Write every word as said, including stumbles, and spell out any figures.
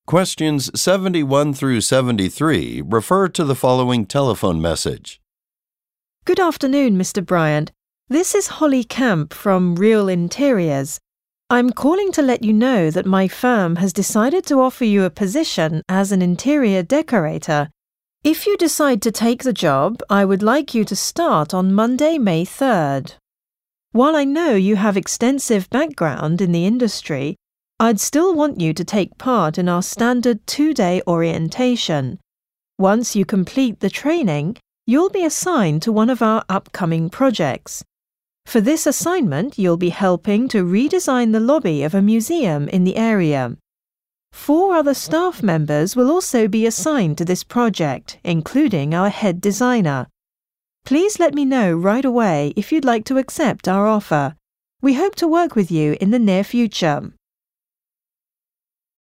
Questions seventy-one through seventy-three refer to the following telephone message. Good afternoon, Mister Bryant. This is Holly Camp from Real Interiors. I'm calling to let you know that my firm has decided to offer you a position as an interior decorator. If you decide to take the job, I would like you to start on Monday, May third. While I know you have extensive background in the industry, I'd still want you to take part in our standard two-day orientation. Once you complete the training, you'll be assigned to one of our upcoming projects. For this assignment, you'll be helping to redesign the lobby of a museum in the area. Four other staff members will also be assigned to this project, including our head designer. Please let me know right away if you'd like to accept our offer. We hope to work with you in the near future.